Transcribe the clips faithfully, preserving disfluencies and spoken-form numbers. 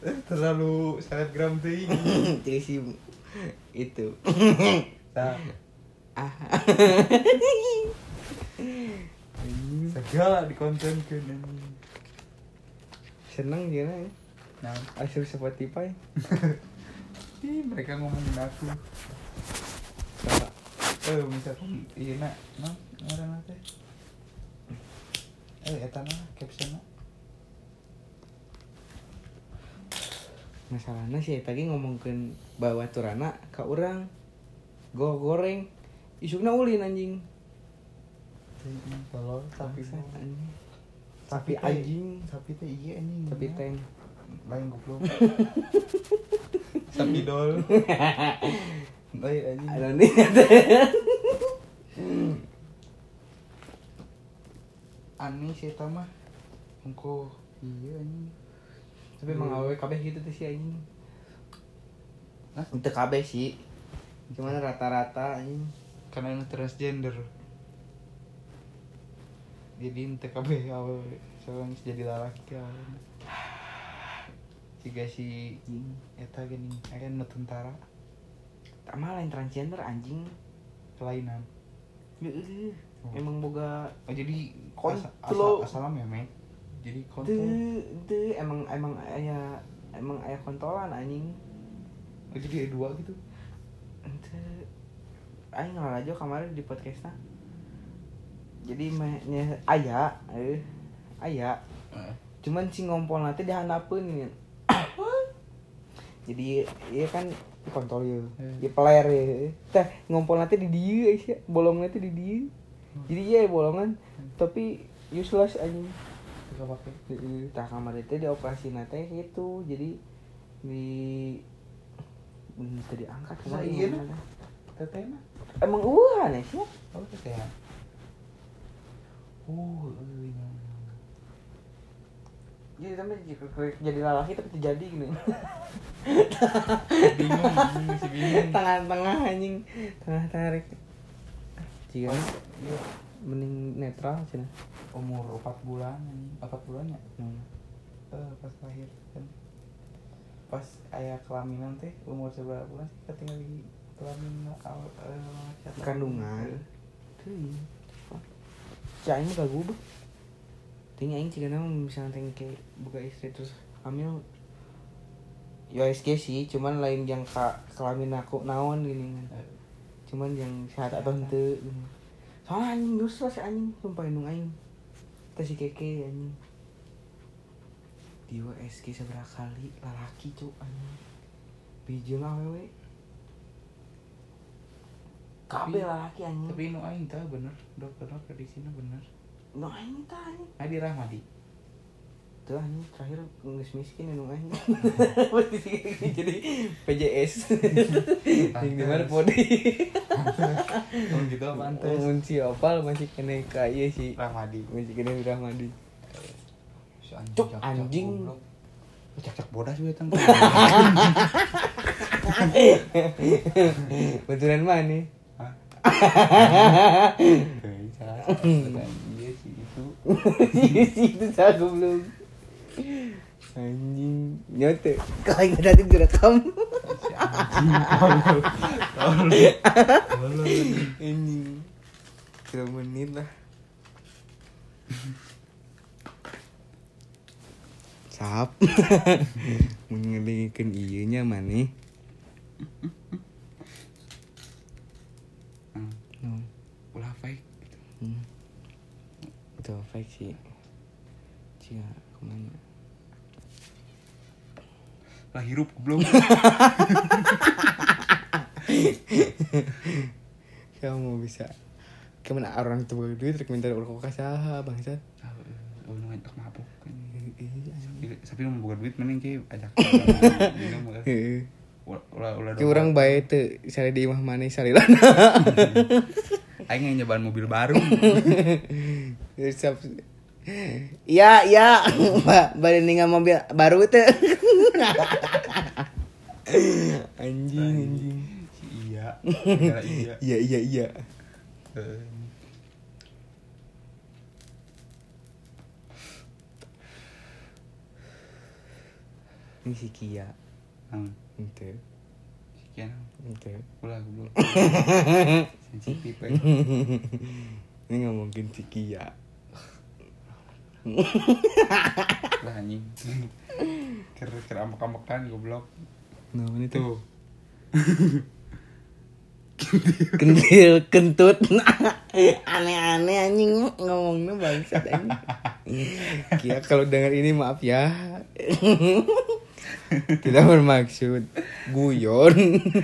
terlalu selebgram tuh ini. Trisi itu. Nah, Ah. segala dikontenkeun anjing. Seneng gimana ya? Nah, Asup Spotify. ih mereka ngomongin aku. Sama Eh misalkan iya nak, nah ngaranna teh. Eh eta mah captionna. masalahnya sih tadi ngomongkeun bawaturana ka urang. Go goreng. Isukna ulin anjing. Tolol tapi Bangsat, anjing. tapi Tapi anjing, tapi teh iya anjing. tapi teng. lain goblok. Sapi dol. Lain anjing. Ada nih. Ani sih eta mah. Engko iya anjing. Tapi emang awewe kabeh gitu tuh si anjing. Hah? Itu kabeh sih. Gimana rata-rata anjing. Karena ini transgender. Jadi ente kabeh awewe seorang jadi lalaki awewe. Siga si eta gini, aya nu tentara Tak malah yang transgender anjing. kelainan. Heeh. Emang boga Oh jadi Kontol. asal asal meme. Jadi kontol. teu teu emang emang aya emang aya kontolan anjing. Oh jadi ada dua gitu. Teu aing ngalajo kemarin di podcastna. Jadi mah nya aya eh aya. Heeh. Cuman si ngompol nanti dihandapeun ini. Jadi iya kan kontol ya. Hmm. Di peler ya. Teh ngompol nanti di dieu sih, bolong nanti di dieu. Jadi iya bolongan tapi useless anjing. Gak pakai. Heeh, tah kamar itu dioperasi teh gitu. Jadi di bisa diangkat Nah, kemarin. iya, ngomongna. Teteh mah. Emang eueuh aneh sih. Oh teteh. Uh, iya. Jadi tapi jadi lalaki tapi terjadi gini. Bingung, bingung masih bingung. Tengah-tengah anjing, tengah tarik. Jika Iya. mending netral cenah. Umur empat bulan anjing, empat bulannya. Hmm. Eh pas lahir kan. Pas aya kelaminan teh umur seberapa bulan sih ketinggal di kelamin awal eh Kandungan. Teuing. Si aing mah gagubah. Ting aing cigana misalnya teng ke buka istri terus hamil. Ya S G sih, cuman lain yang ka kelamin aku naon gini kan. Cuman yang sehat atau henteu gini. Soalnya anjing dosa si anjing sumpah indung aing. Teh si keke anjing. Dia S G seberapa kali lalaki cuk anjing. Bijil awewe. Kabeh lalaki anjing. Tapi nu aing tah bener, dokter-dokter di sini bener. No aing tah anjing. Adi Rahmadi. Tuh anjing terakhir geus miskin indung aing. Jadi P J S. Yang di mana podi. Oh gitu pantes. Mun si opal masih kena ka ieu sih. Rahmadi. Masih kena di Rahmadi. Si anjing. Cuk, cak-cak anjing. goblok. Cak-cak bodas we tang. Betulan mana? Hah? Bisa. Iya sih itu. Itu saya belum. Anjing nyote. Kalau nggak tadi direkam. Si anjing. Tolol. Tolol. Tolol. Anjing. Tiga menit lah. Sap. Mun ngedengekeun ieu nya maneh. Hmm. No. Ulah fake. Hmm. Itu fake sih. Cia kemana? Lah hirup goblok. Kamu bisa kemana orang tuh duit rek minta urang ka saha bangsat. Oh nu entok mabuk kan. Iya anjing. Tapi mun boga duit mending ki ajak. Heeh. Ulah ulah. Ki urang bae teu sare di imah maneh salilana. Aing nyobaan mobil baru. Siap. Iya, iya. Mbak, bade ningal mobil baru teh. Anjing, anjing. Si iya. Negara iya. Iya, iya, iya. Eh, Ini si Kia. Nah, Ente. sekian. Ente. Ulah goblok. Sensitif eh. Ini nggak mungkin si Kia. Lah anjing. Kira-kira amak-amakan goblok. Nah, ini tuh. Tuh. Kentil kentut. Aneh-aneh anjing ngomongnya bangsat anjing. Kia kalau dengar ini maaf ya. Tidak bermaksud guyon.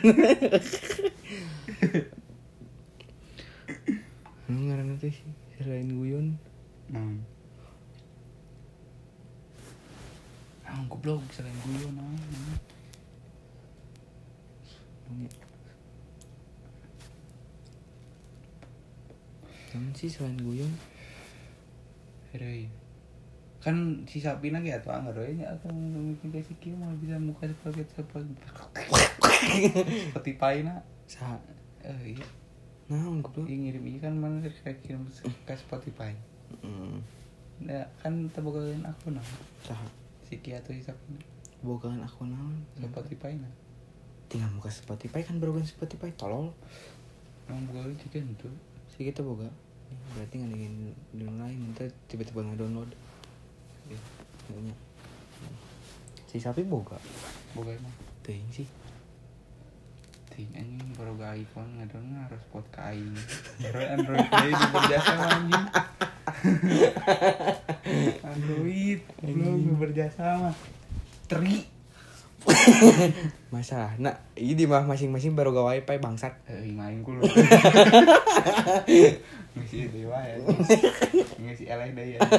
Lu ngaran teh sih selain guyon. Nah. Ah, goblok selain guyon ah. Namun sih selain guyon. Heroi. Kan si Sapina kayak tuh anggar we nya atau mungkin kayak si Kia mau bisa muka seperti seperti seperti paina. Sa. Eh iya. Nah, goblok. Yang ngirim ini kan mana kayak kirim ke Spotify. Heeh. Nah, kan terbukain aku nah. Sa. Si Kia atau si Sapina. Bogaan aku naon? Spotify nah. Tinggal buka Spotify kan baru kan Spotify tolol. Emang buka juga itu. Si kita boga. Berarti nggak ingin download minta tiba-tiba nggak download. Ya, nggaknya. Si sapi boga. Buka emang. Ting sih. Ting anjing baru gak iPhone ngadon harus pot kain. Android Android ini berjasa anjing. Android belum berjasa mah. Teri. Masalah, nah ini mah masing-masing baru gak wifi bangsat. Eh main kulo. Ngisi dewa ya. Ngisi eleh deh ya.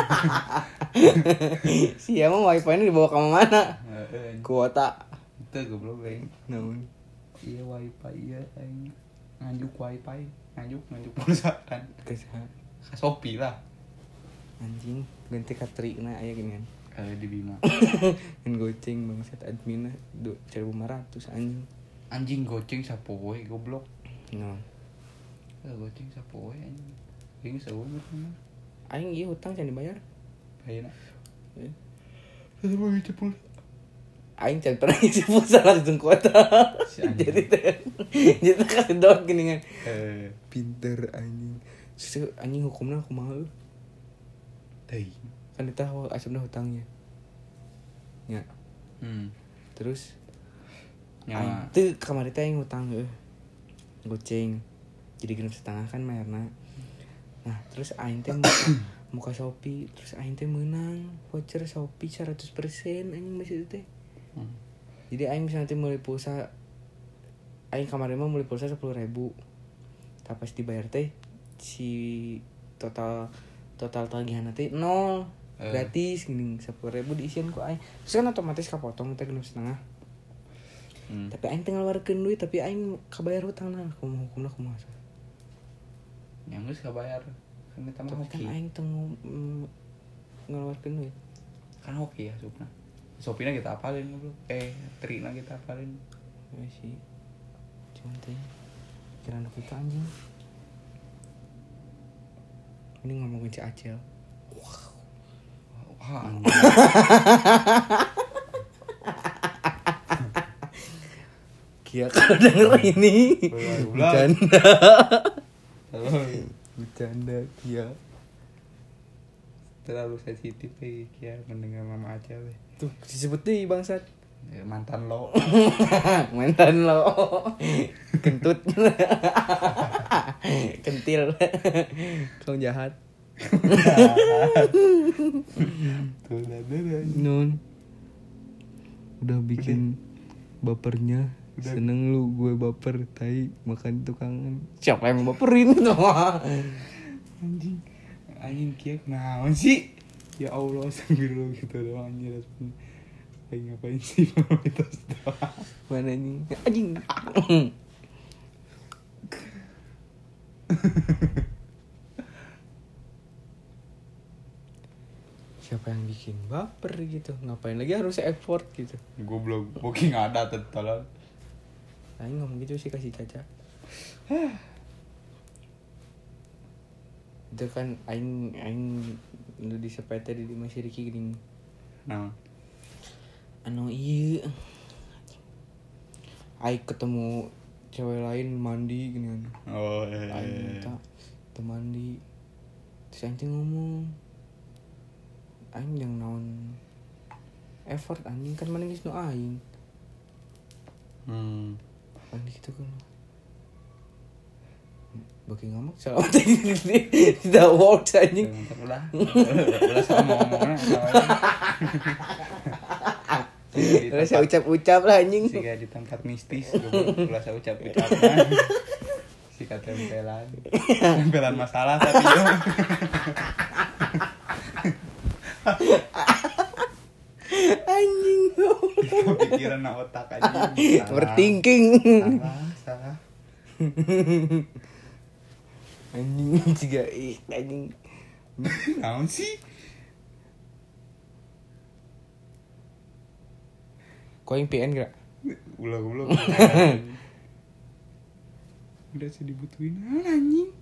Si emang wifi ini dibawa ke mana? Heeh. Kuota. Itu goblok aing. Namun Iya wifi iya aing. Nganjuk wifi, nganjuk nganjuk pulsa kan. kesah Ka Shopee lah. anjing ganti katri na aya gini kan. Kalau di Bima. Kan goceng bangsat adminnya dua ribu lima ratus anjing. Anjing goceng sapoe goblok. No. Eh goceng sapoe anjing. Ini sapoe bener. Aing ieu hutang can dibayar. Bayarna. Eh. Terus mau cepul. Aing can pernah ngisi pulsa langsung kuota. Si anjing. Jadi teh. Jadi kasih doang gini kan. Eh, Pinter anjing. Terus anjing hukumna kumaha euy? teuing. Kan kita asupna hutangnya. Ya. Hmm. Terus Nya aing teu kamari teh aing hutang euy. Goceng. Jadi genep setengah kan bayarna. Nah, terus aing teh muka, muka Shopee, terus aing teh menang voucher Shopee seratus persen anjing masih teh. Hmm. Jadi aing bisa nanti mulai pulsa aing kemarin mah mulai pulsa sepuluh ribu. Tapi pas dibayar teh si total total tagihan nanti nol. Eh. Gratis gini sepuluh ribu diisian ku aing. Terus kan otomatis kapotong teh genep setengah. Hmm. Tapi aing teh ngeluarkeun duit tapi aing kabayar hutangna. Kumaha hukumna kumaha? Yang geus kabayar. Kan eta mah Tapi kan hoki. aing teh mm, ngeluarkeun duit. Kan hoki ya supna. Shopee-na kita apalin goblok. Eh, Trina kita apalin. Ya sih. Cuman teh kira anak kita anjing. Ini ngomongin si Acel. Wah, anjing. Kia kalau denger ini bercanda. Bercanda Kia. Terlalu sensitif eh Kia mendengar Mama Acel eh. Tuh disebut deh bangsat. Ya, mantan lo. Mantan lo. Kentut. Kentil. Kau jahat. Tuh lah deh. Nun. Udah bikin bapernya. Udah. Seneng lu gue baper tai makan tukangan. Siapa yang baperin tuh? Anjing. Anjing Kia kenaon sih? Ya Allah sambil gitu doang anjir. Lagi ngapain sih formalitas doang. Mana nih? Anjing. Siapa yang bikin baper gitu? Ngapain lagi harus effort gitu? Goblok, booking ada tetolol. Aing ngomong gitu sih kasih Caca. Itu kan aing aing nu di sepete di masih Riki gini. Nah, anu iya Aik ketemu cewek lain mandi gini kan. Oh eh. Aik minta tuh mandi. Terus anjing ngomong aing yang naon effort anjing kan mana geus nu aing. Hmm. Mandi gitu kan. Bagi ngamak salah tidak works anjing. Udah. Udah sama ngomongnya sama. Udah saya ucap-ucap lah anjing. Siga di tempat mistis ulah saya ucap-ucapna. Siga tempelan. Tempelan masalah tapi yo. Anjing. Kepikiran na otak anjing. Overthinking. Salah, salah. Anjing juga ih anjing. Naon sih? Kau yang P N gak? Ulah-ulah. Udah sih dibutuhin anjing.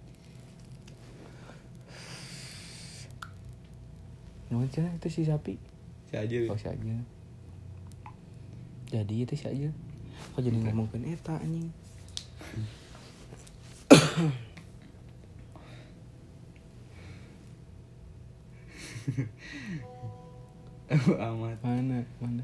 Nuhun cenah itu si sapi. Si aja. Oh si aja. Jadi itu si aja. Kok jadi ngomongkeun eta anjing. Amat. Mana? Mana?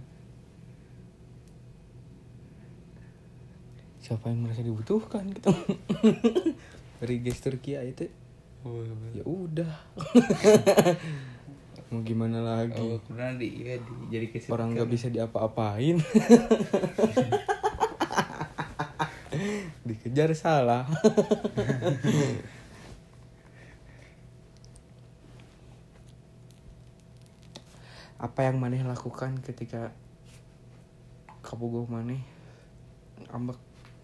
Siapa yang merasa dibutuhkan gitu. Dari gestur Kia itu. Oh, Ya udah. Mau gimana lagi? oh kemudian di, ya, di jadi kesepian. Orang nggak bisa diapa-apain. Dikejar salah. Apa yang maneh lakukan ketika kabogoh maneh ambek?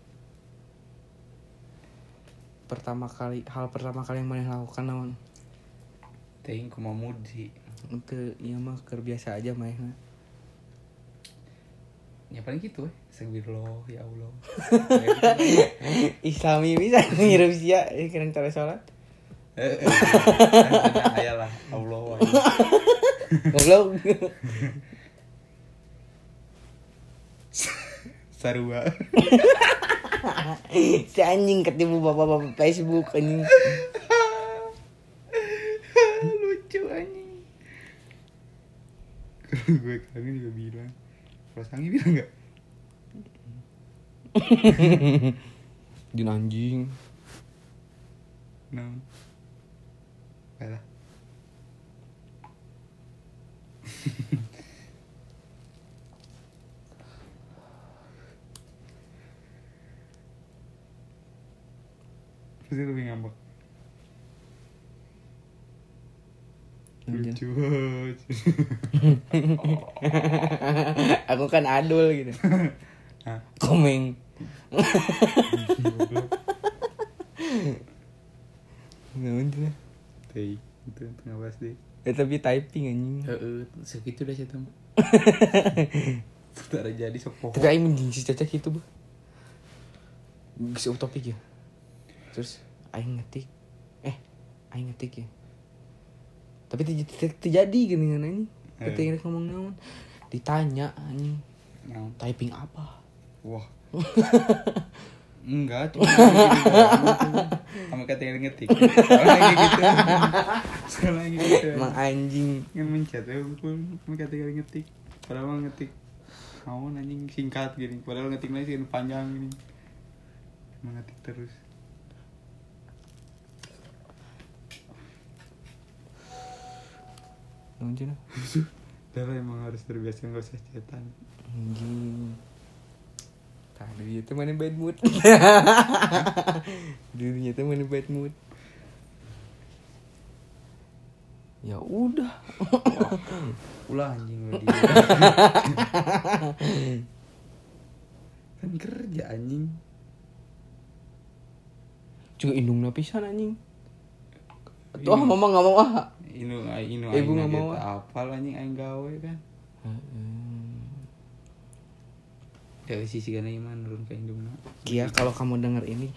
Pertama kali hal pertama kali yang maneh lakukan naon? Teuing kumaha mood sih. Untuk iya mah keur biasa aja manehna. Ya paling gitu eh. Astagfirullah ya Allah. Islami bisa ngirup sia kira cara salat. Eh, ayalah Allah wa. Goblok. Sarua. Si anjing ketemu bapak-bapak Facebook anjing. Lucu anjing. Gue kangen juga bilang. Kalau Sangi bilang enggak? Din anjing. No. Baiklah. Pasti lebih ngambek. Lucu. Aku kan adul gitu. Hah? Komeng. Naon cenah? Teh, itu tengah bahas deh. Eh tapi typing anjing. Heeh, segitu dah saya tahu. Tidak jadi sok Tapi aing mending si Caca gitu, Bu. Geus utopik ya. Terus aing ngetik. Eh, aing ngetik ya. Tapi tidak terjadi gini kan anjing. Ketika dia ngomong naon, ditanya anjing. Naon? Typing apa? Wah. Enggak, cuma sama kata yang ngetik. Soalnya gitu. Soalnya gitu. Emang anjing. Kan mencet ya, sama kata yang ngetik. Padahal mah ngetik. Mau anjing singkat gini. Padahal ngetik lagi sih panjang gini. Emang ngetik terus. Anjing. Dah emang harus terbiasa nggak usah cetan. Anjing. Tadi itu mana bad mood. Dirinya itu mana bad mood. Ya udah. Ulah anjing lo dia. Kan kerja anjing. Juga indungna pisan anjing. Tuh ah mama enggak mau ah. Inu inu Ibu aing nggak mau. apal anjing aing gawe kan. Heeh. Dari sisi kana iman nurun ke indungna. Kia kalau kamu denger ini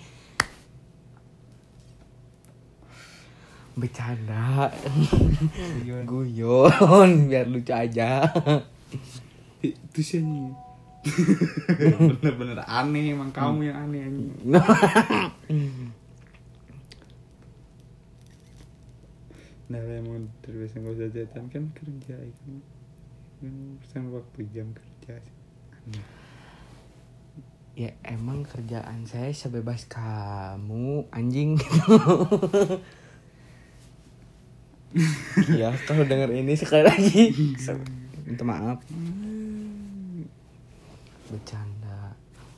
bercanda. Guyon biar lucu aja. Itu sih anjing. Bener-bener aneh emang kamu yang aneh anjing. Nah emang terbiasa nggak usah chatan kan kerja itu kan waktu jam kerja sih. Aneh. Ya emang kerjaan saya sebebas kamu anjing. Ya kalau denger ini sekali lagi minta maaf. Bercanda.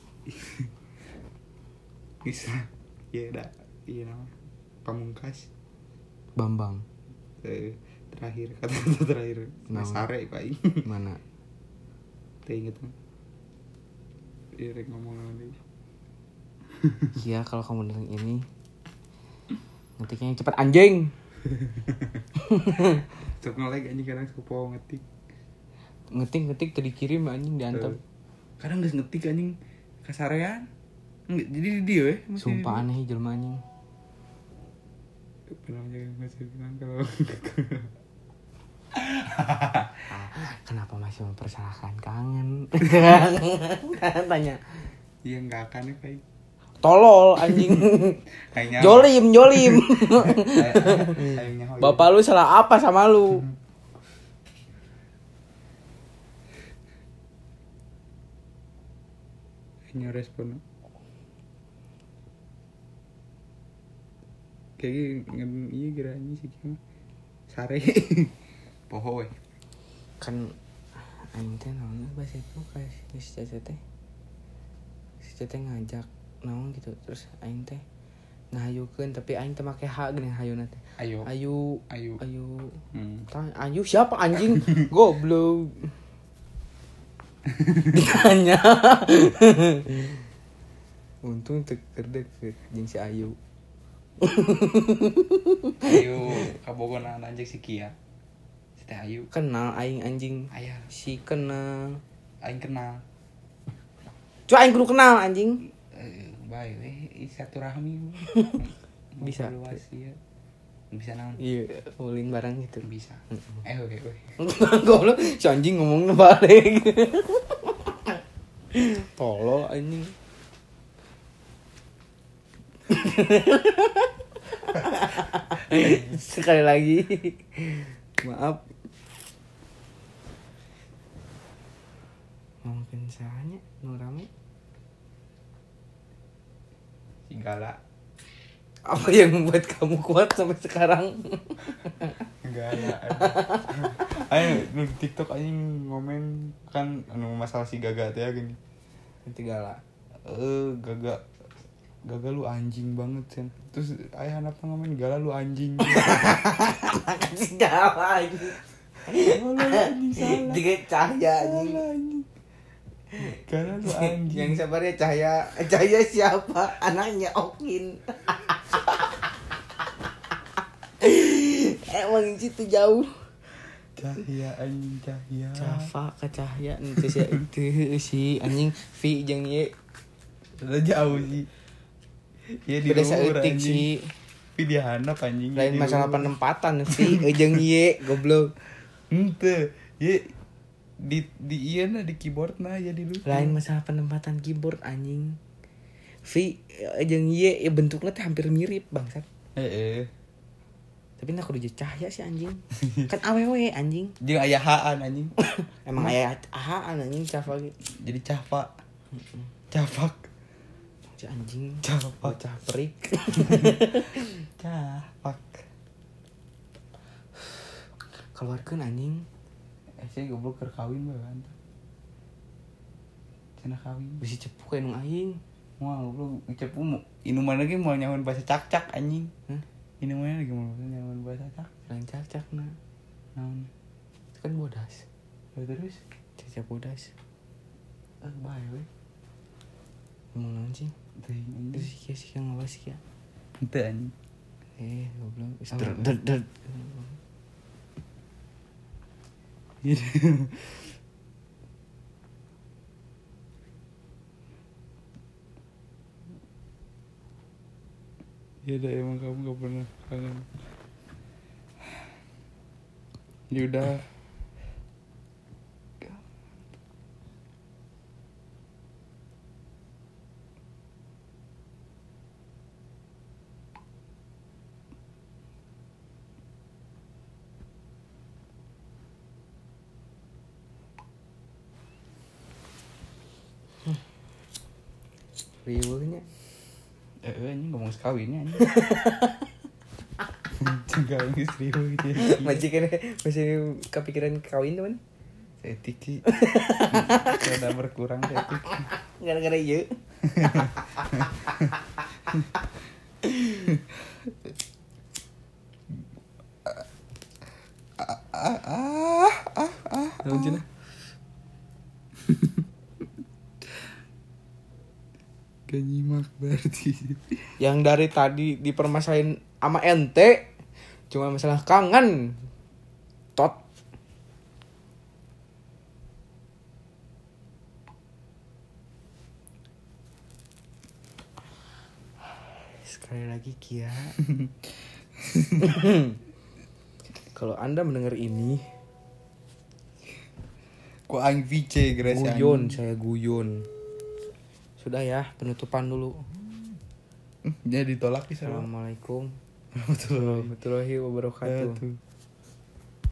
Bisa. Iya dah. Iya nama. Pamungkas. Bambang. Eh, terakhir kata-kata terakhir. Nama. Sare Pak. Mana? Teh inget kan? Iya rek ngomong lagi. Iya kalau kamu denger ini ngetiknya yang cepet anjing. Sok ngelag anjing kadang suka ngetik. Ngetik-ngetik tadi kirim anjing diantep. Kadang geus ngetik anjing kasarean. Enggak jadi di dia eh. Sumpah aneh jelema anjing. Pernah jaga masih bilang kalau Ah, kenapa masih mempersalahkan kangen? Tanya. iya enggak akan ya kayak Tolol anjing. kayaknya Jolim, jolim. kayaknya Bapak lu salah apa sama lu? kayaknya respon kayak ngen iya geranya sih gimana sare poho we Kan aing teh naon bahasa itu kayak si Cece teh. Si Cece ngajak naon gitu terus aing teh ngahayukeun tapi aing teh make H geuning hayuna teh. ayo Ayu, ayo ayu. hmm. Tanya, ayu siapa anjing? Goblok. Ditanya. Untung teu keur deket jeung si Ayu. ayo kabogonan anjing si Kia si teh ayu Kenal aing anjing. aya Si kenal. aing kenal Cuma aing kudu kenal anjing. eh bae we satu rahmi Bisa. luas ya bisa naon Iya, ulin barang gitu. bisa eh oke oke Goblok, si anjing ngomongnya balik. Tolol anjing. Sekali lagi. Maaf. Mungkin salahnya nu rame. si Gala Apa yang membuat kamu kuat sampai sekarang? enggak ada ayo nu di TikTok anjing ngomen kan anu masalah si Gaga teh gini Nanti galak. eh Gaga Gaga lu anjing banget sen terus ayah anak ngomen Gala lu anjing Kasih galak anjing. oh, lu anjing salah Tiga cahaya anjing. salah anjing Gala lu anjing Yang sabarnya Cahaya. Cahaya siapa? Anaknya Okin. Emang situ jauh. Cahya anjing Cahya Cafa ke Cahaya itu si itu si anjing V jeung ye. udah jauh sih ya di Beda luhur saeutik anjing sih. tapi dia handap anjing Lain di masalah luhur. penempatan V jeung ye goblok. Ente ya di di iya nah di keyboard nah ya di luhur Lain masalah penempatan keyboard anjing. V jeung ye ya bentuknya teh hampir mirip bangsat. eh eh Tapi nak kudu Cahaya sih anjing. Kan awewe anjing. jeung aya haan anjing Emang aya ahaan anjing Cafa gitu. jadi Cafa Cafak Si anjing Cafak bocah perik. Cafak Keluarkeun anjing. eh sih goblok keur kawin bae kan cenah kawin Bisi cepu kayak nung aing. moal goblok cepu mau inuman lagi mau nyawan bahasa cak-cak anjing Hah? inuman lagi mau nyawan bahasa cak Lain cacak na. naon Itu kan bodas. terus Cacak bodas. eh bae we Ngomong naon sih? teuing Itu anjing sih kia sih yang ngawas kia. henteu anjing Eh, goblok. Apa? Der der der. Ya udah emang kamu gak pernah kangen. Ya udah. Riweuhnya. Eh, ini ngomong sekawinnya ini. Juga ini serius gitu. Majikan masih kepikiran kawin teman. Etik sih. Kada berkurang etik. Gara-gara ieu. Ah ah ah ah. Naon cenah? Gak nyimak berarti. Yang dari tadi dipermasalahin sama ente cuma masalah kangen. Tot. Sekali lagi Kia. Kalau Anda mendengar ini, Kok aing V C geus guyon, saya guyon. Sudah ya, penutupan dulu. Jadi ditolak sih. Assalamualaikum Warahmatullahi warahmatullahi wabarakatuh. wabarakatuh.